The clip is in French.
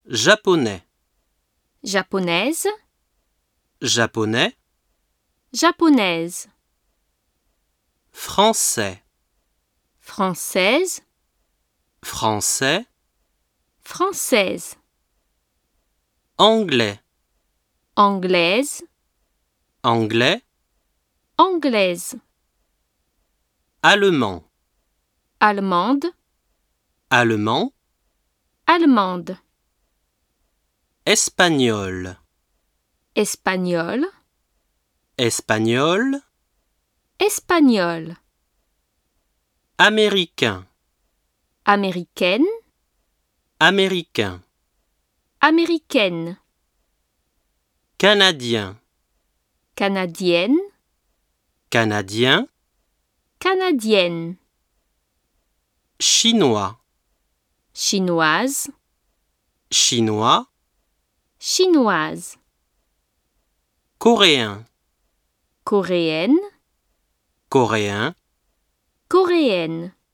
Japonais, japonaise, japonais, japonaise, français, française, français, française, anglais, anglaise, anglais, anglaise, allemand, allemande, allemand, allemande, espagnol, espagnol, espagnol, espagnol, américain, américaine, américain, américaine, canadien, canadienne, canadien, canadienne, chinois, chinoise, chinois, chinoise, coréen, coréenne, coréen, coréenne.